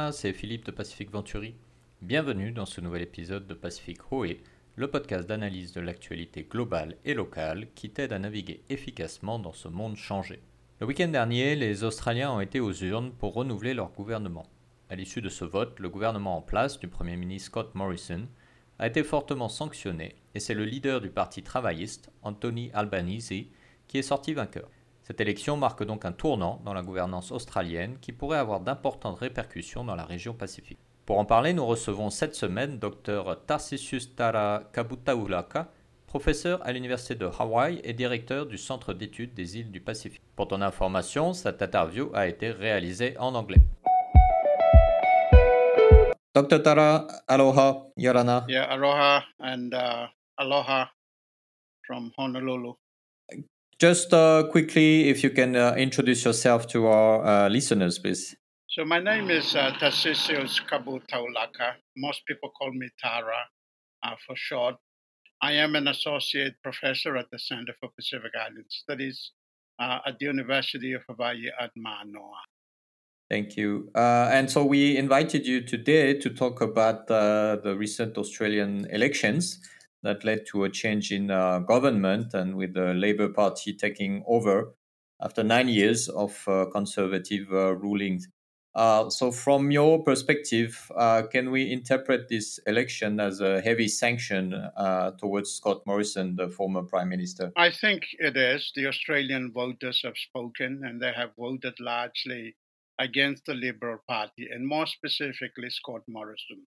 Yorana, c'est Philippe de Pacific Venturi. Bienvenue dans ce nouvel épisode de Pacific Hoé, le podcast d'analyse de l'actualité globale et locale qui t'aide à naviguer efficacement dans ce monde changé. Le week-end dernier, les Australiens ont été aux urnes pour renouveler leur gouvernement. À l'issue de ce vote, le gouvernement en place du Premier ministre Scott Morrison a été fortement sanctionné et c'est le leader du Parti travailliste, Anthony Albanese, qui est sorti vainqueur. Cette élection marque donc un tournant dans la gouvernance australienne qui pourrait avoir d'importantes répercussions dans la région Pacifique. Pour en parler, nous recevons cette semaine Dr Tarsisius Tara Kabutaulaka, professeur à l'Université de Hawaï et directeur du Centre d'études des îles du Pacifique. Pour ton information, cette interview a été réalisée en anglais. Dr Tara, aloha, yorana. Yeah, aloha and aloha from Honolulu. Just quickly, if you can introduce yourself to our listeners, please. So my name is Tarsisius Kabutaulaka. Most people call me Tara for short. I am an associate professor at the Center for Pacific Island Studies at the University of Hawaii at Manoa. Thank you. And so we invited you today to talk about the recent Australian elections that led to a change in government and with the Labour Party taking over after 9 years of conservative rulings. So from your perspective, can we interpret this election as a heavy sanction towards Scott Morrison, the former Prime Minister? I think it is. The Australian voters have spoken and they have voted largely against the Liberal Party and more specifically Scott Morrison.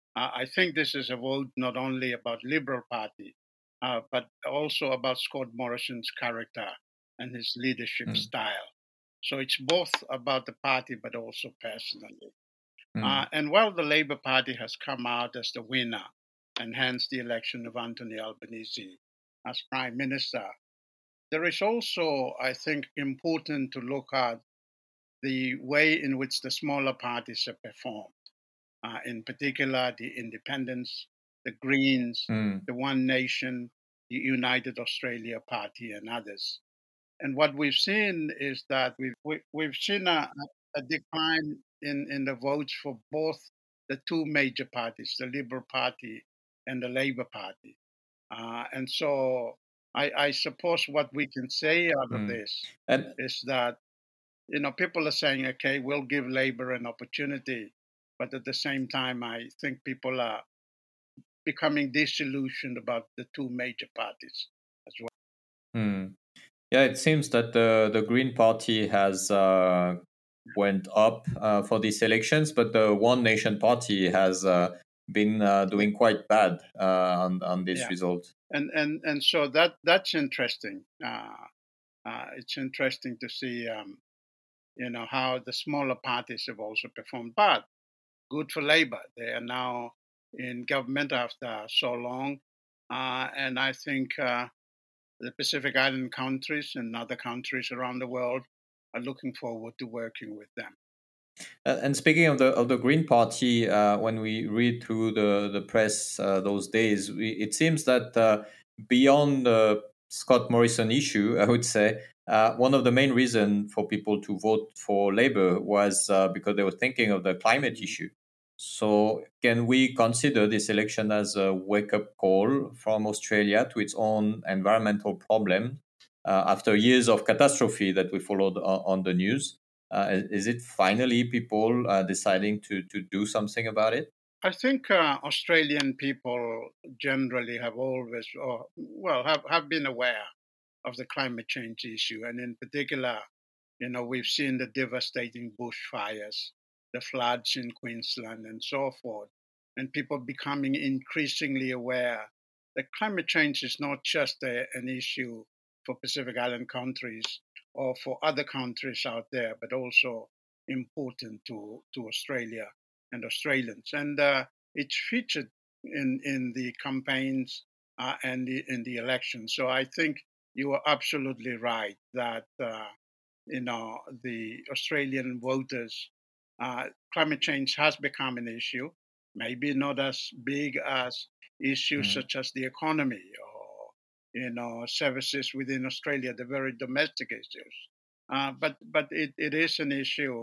I think this is a vote not only about Liberal Party, but also about Scott Morrison's character and his leadership style. So it's both about the party, but also personally. And while the Labour Party has come out as the winner, and hence the election of Anthony Albanese as Prime Minister, there is also, I think, important to look at the way in which the smaller parties have performed. In particular, the Independents, the Greens, the One Nation, the United Australia Party, and others. And what we've seen is that we've seen a decline in the votes for both the two major parties, the Liberal Party and the Labour Party. And so I suppose what we can say out of this is that, you know, people are saying, okay, we'll give Labour an opportunity. But at the same time, I think people are becoming disillusioned about the two major parties as well. Yeah, it seems that the Green Party has went up for these elections, but the One Nation Party has been doing quite bad on this result. And so that's interesting. It's interesting to see, you know, how the smaller parties have also performed. But good for Labour. They are now in government after so long. And I think the Pacific Island countries and other countries around the world are looking forward to working with them. And speaking of the Green Party, when we read through the press those days, it seems that beyond the Scott Morrison issue, I would say, one of the main reasons for people to vote for Labour was because they were thinking of the climate issue. So can we consider this election as a wake-up call from Australia to its own environmental problem after years of catastrophe that we followed on the news? Is it finally people deciding to do something about it? I think Australian people generally have always, have been aware of the climate change issue. And in particular, you know, we've seen the devastating bushfires, the floods in Queensland, and so forth. And people becoming increasingly aware that climate change is not just an issue for Pacific Island countries or for other countries out there, but also important to Australia and Australians. And it's featured in the campaigns and in the elections. So I think you are absolutely right that you know, the Australian voters, climate change has become an issue, maybe not as big as issues such as the economy or, you know, services within Australia, the very domestic issues. But it is an issue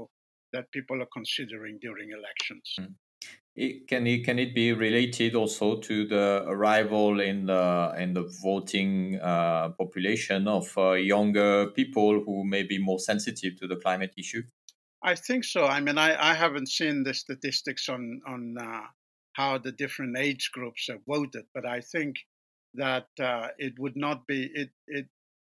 that people are considering during elections. Can it be related also to the arrival in the voting population of younger people who may be more sensitive to the climate issue? I think so. I mean, I haven't seen the statistics on how the different age groups have voted, but I think that it would not be it.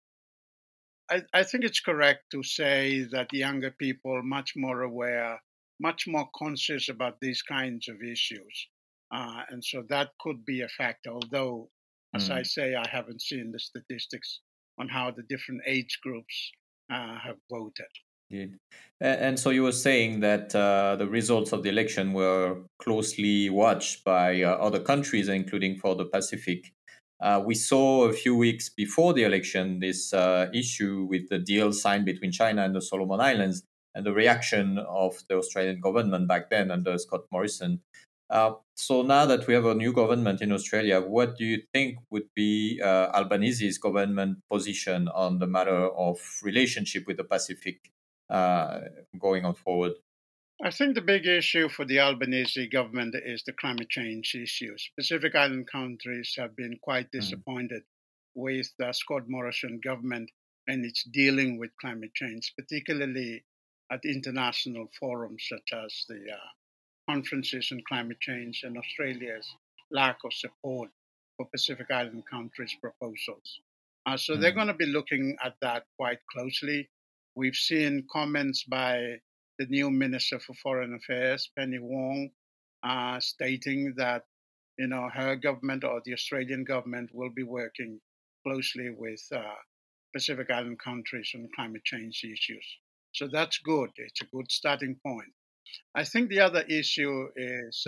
I think it's correct to say that younger people much more aware, much more conscious about these kinds of issues, and so that could be a factor. Although, as I say, I haven't seen the statistics on how the different age groups have voted. Indeed. And so you were saying that the results of the election were closely watched by other countries, including for the Pacific. We saw a few weeks before the election this issue with the deal signed between China and the Solomon Islands and the reaction of the Australian government back then under Scott Morrison. So now that we have a new government in Australia, what do you think would be Albanese's government position on the matter of relationship with the Pacific going on forward? I think the big issue for the Albanese government is the climate change issues. Pacific Island countries have been quite disappointed with the Scott Morrison government and its dealing with climate change, particularly at international forums such as the conferences on climate change and Australia's lack of support for Pacific Island countries' proposals. So they're going to be looking at that quite closely. We've seen comments by the new Minister for Foreign Affairs, Penny Wong, stating that her government or the Australian government will be working closely with Pacific Island countries on climate change issues. So that's good. It's a good starting point. I think the other issue is,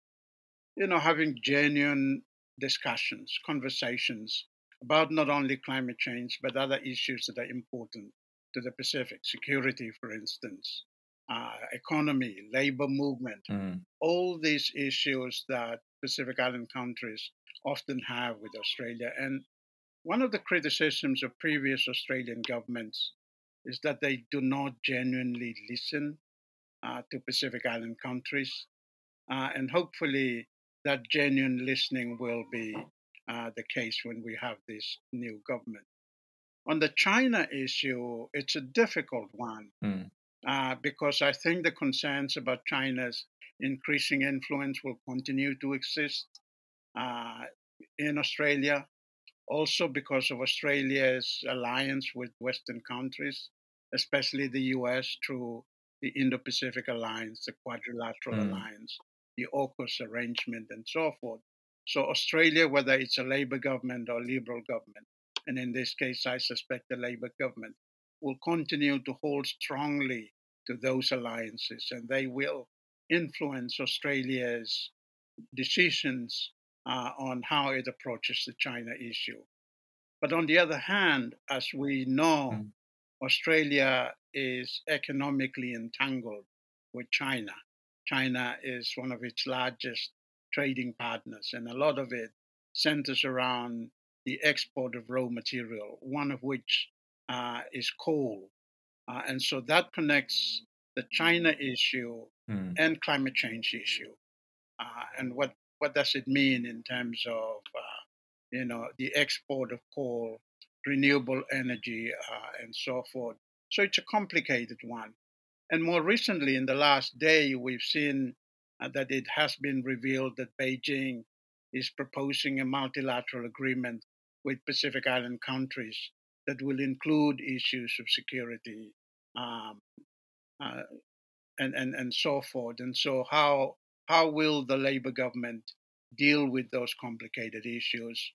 having genuine discussions, conversations about not only climate change, but other issues that are important to the Pacific. Security, for instance, economy, labor movement, all these issues that Pacific Island countries often have with Australia. And one of the criticisms of previous Australian governments is that they do not genuinely listen to Pacific Island countries. And hopefully, that genuine listening will be the case when we have this new government. On the China issue, it's a difficult one because I think the concerns about China's increasing influence will continue to exist in Australia. Also, because of Australia's alliance with Western countries, especially the US through the Indo Pacific Alliance, the Quadrilateral Alliance, the AUKUS arrangement, and so forth. So, Australia, whether it's a Labour government or Liberal government, and in this case, I suspect the Labour government, will continue to hold strongly to those alliances, and they will influence Australia's decisions on how it approaches the China issue. But on the other hand, as we know, Australia is economically entangled with China. China is one of its largest trading partners, and a lot of it centers around the export of raw material, one of which is coal. And so that connects the China issue and climate change issue. And what does it mean in terms of the export of coal, renewable energy, and so forth? So it's a complicated one. And more recently, in the last day, we've seen that it has been revealed that Beijing is proposing a multilateral agreement with Pacific Island countries that will include issues of security um, uh, and so forth. And so, how will the Labour government deal with those complicated issues?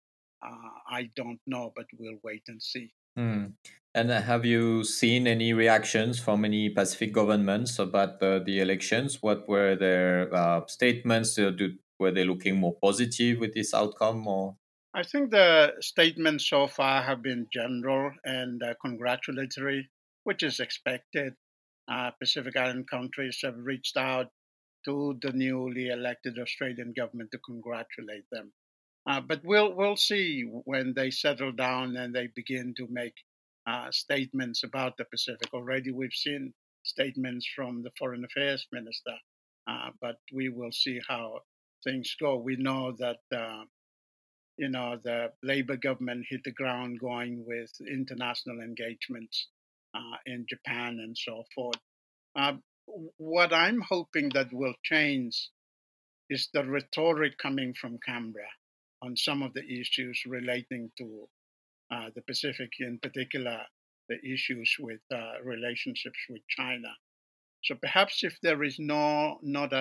I don't know, but we'll wait and see. And have you seen any reactions from any Pacific governments about the elections? What were their statements? Were they looking more positive with this outcome, or? I think the statements so far have been general and congratulatory, which is expected. Pacific Island countries have reached out to the newly elected Australian government to congratulate them. But we'll see when they settle down and they begin to make statements about the Pacific. Already, we've seen statements from the Foreign Affairs Minister, but we will see how things go. We know that the Labour government hit the ground going with international engagements in Japan and so forth. What I'm hoping that will change is the rhetoric coming from Canberra on some of the issues relating to the Pacific, in particular, the issues with relationships with China. So perhaps if there is no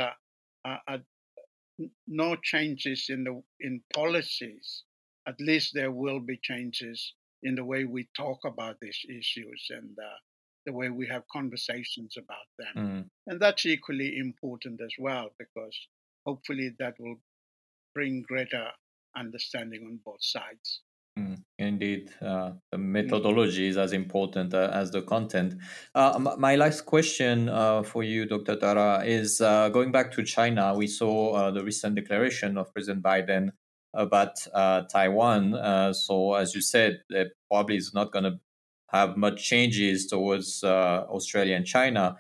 changes in policies, at least there will be changes in the way we talk about these issues and the way we have conversations about them. And that's equally important as well, because hopefully that will bring greater understanding on both sides. Indeed, the methodology is as important as the content. My last question for you, Dr. Tara, is going back to China. We saw the recent declaration of President Biden about Taiwan. So, as you said, there probably is not going to have much changes towards Australia and China.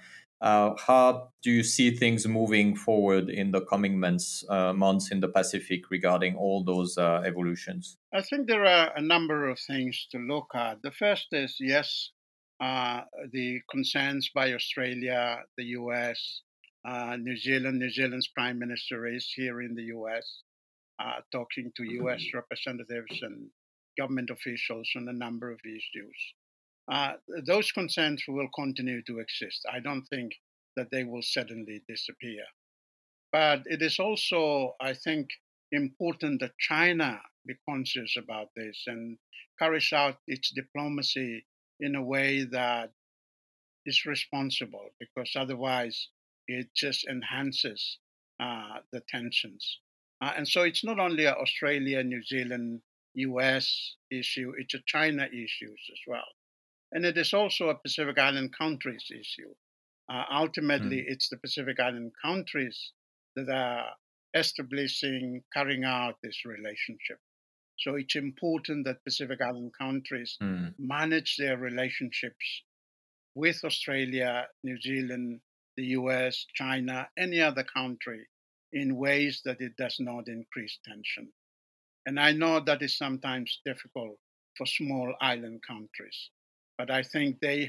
How do you see things moving forward in the coming months in the Pacific regarding all those evolutions? I think there are a number of things to look at. The first is, yes, the concerns by Australia, the US, New Zealand. New Zealand's Prime Minister is here in the US, talking to US representatives and government officials on a number of issues. Those concerns will continue to exist. I don't think that they will suddenly disappear. But it is also, I think, important that China be conscious about this and carries out its diplomacy in a way that is responsible, because otherwise it just enhances the tensions. And so it's not only an Australia, New Zealand, US issue, it's a China issue as well. And it is also a Pacific Island countries issue. Ultimately, it's the Pacific Island countries that are carrying out this relationship. So it's important that Pacific Island countries manage their relationships with Australia, New Zealand, the US, China, any other country in ways that it does not increase tension. And I know that is sometimes difficult for small island countries, but I think they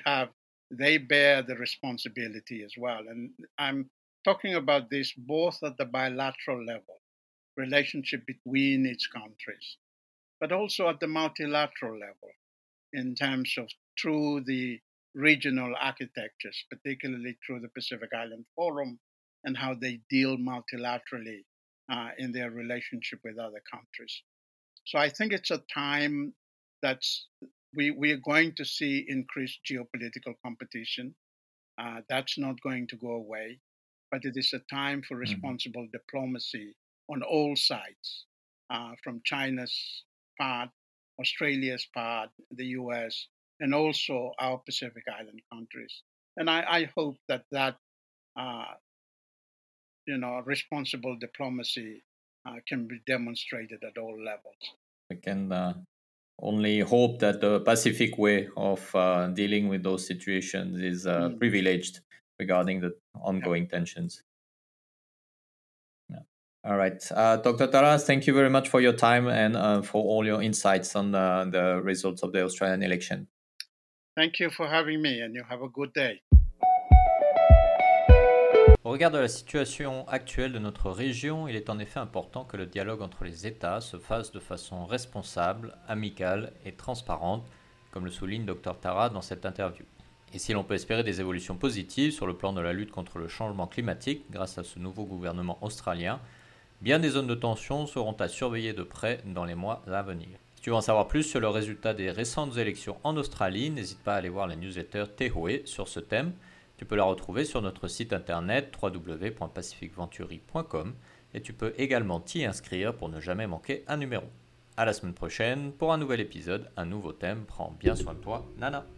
bear the responsibility as well. And I'm talking about this both at the bilateral level, relationship between its countries, but also at the multilateral level in terms of through the regional architectures, particularly through the Pacific Island Forum and how they deal multilaterally in their relationship with other countries. So I think it's a time that's we are going to see increased geopolitical competition. That's not going to go away, but it is a time for responsible diplomacy on all sides, from China's part, Australia's part, the US, and also our Pacific Island countries. And I hope that responsible diplomacy can be demonstrated at all levels. We can only hope that the Pacific way of dealing with those situations is privileged regarding the ongoing tensions. Yeah. All right. Dr. Tara, thank you very much for your time and for all your insights on the results of the Australian election. Thank you for having me, and you have a good day. Au regard de la situation actuelle de notre région, il est en effet important que le dialogue entre les États se fasse de façon responsable, amicale et transparente, comme le souligne Dr Tara dans cette interview. Et si l'on peut espérer des évolutions positives sur le plan de la lutte contre le changement climatique grâce à ce nouveau gouvernement australien, bien des zones de tension seront à surveiller de près dans les mois à venir. Si tu veux en savoir plus sur le résultat des récentes élections en Australie, n'hésite pas à aller voir la newsletter Tehoe sur ce thème. Tu peux la retrouver sur notre site internet www.pacificventuri.com et tu peux également t'y inscrire pour ne jamais manquer un numéro. À la semaine prochaine pour un nouvel épisode, un nouveau thème. Prends bien soin de toi, Nana.